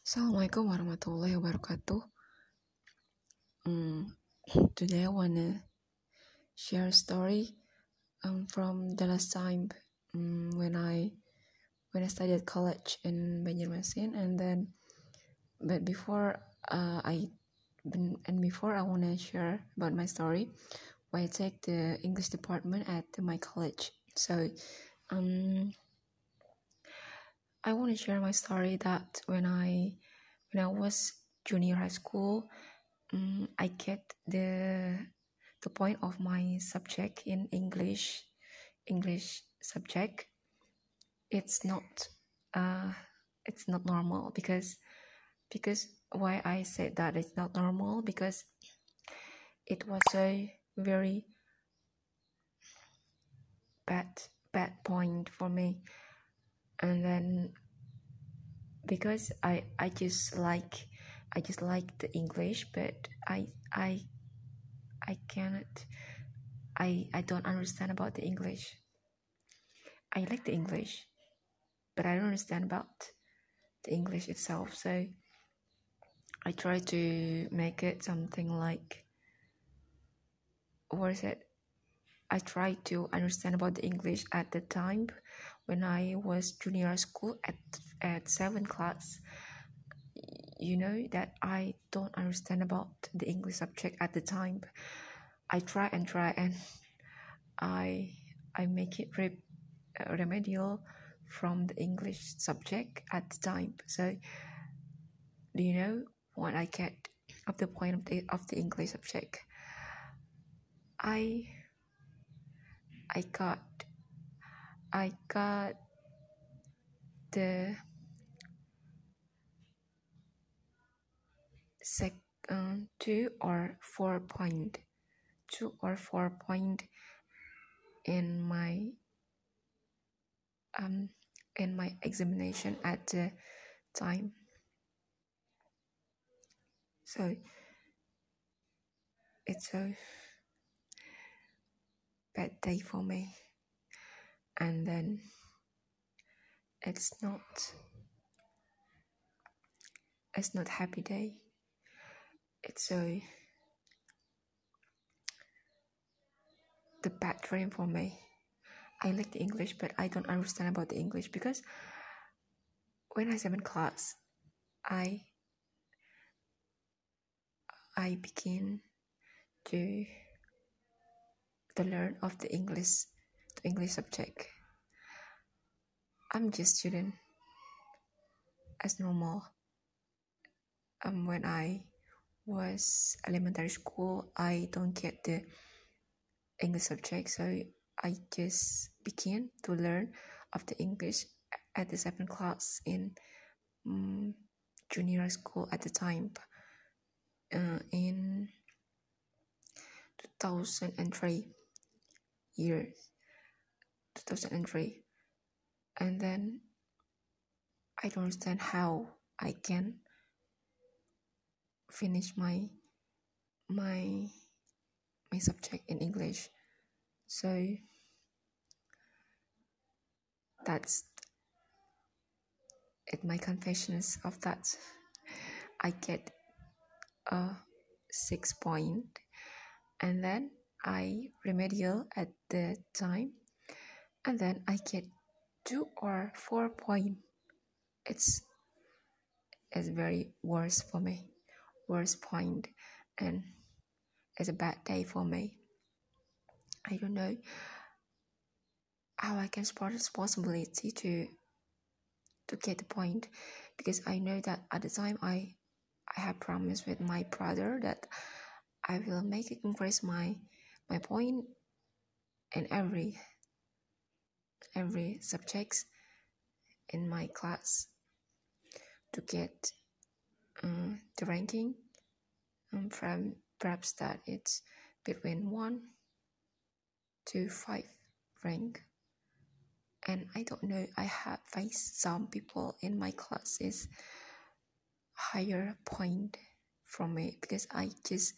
Assalamualaikum warahmatullahi wabarakatuh. Today I wanna share a story from the last time when I studied college in Banjarmasin, but before I wanna share about my story why I take the English department at my college. So I want to share my story that when I was junior high school, I get the point of my subject in English subject. It's not normal because why I said that it's not normal, because it was a very bad point for me. And then because I just like the English, but I cannot, I don't understand about the English. I like the English, but I don't understand about the English itself. So I try to make it something like, I try to understand about the English at the time when I was junior school at 7th class. You know that I don't understand about the English subject at the time. I try and I make it remedial from the English subject at the time. So do you know what I get of the point of the English subject? I got the two or four point in my examination at the time. So it's a bad day for me, and then it's not happy day. It's the bad dream for me. I like the English, but I don't understand about the English, because when I was in class, I begin to learn of the English subject. I'm just student as normal. When I was elementary school, I don't get the English subject, so I just begin to learn of the English at the 7th class in junior school at the time, in 2003, and then I don't understand how I can finish my subject in English. So that's it. My confessions of that. I get a 6 point, and then I remedial at the time, and then I get 2 or 4 point. It's very worse for me, worst point, and it's a bad day for me. I don't know how I can spot responsibility to get the point, because I know that at the time I have promised with my brother that I will make it increase my point in every subjects in my class to get the ranking from perhaps that it's between 1 to 5 rank. And I don't know, I have faced some people in my class is higher point from me, because I just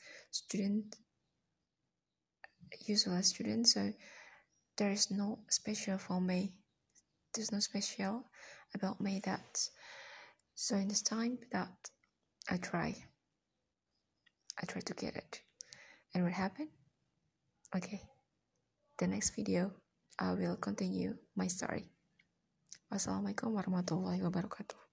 usual student, so there is no special for me. There's no special about me that. So in this time that I try to get it. And what happened? Okay, the next video I will continue my story. Wassalamualaikum warahmatullahi wabarakatuh.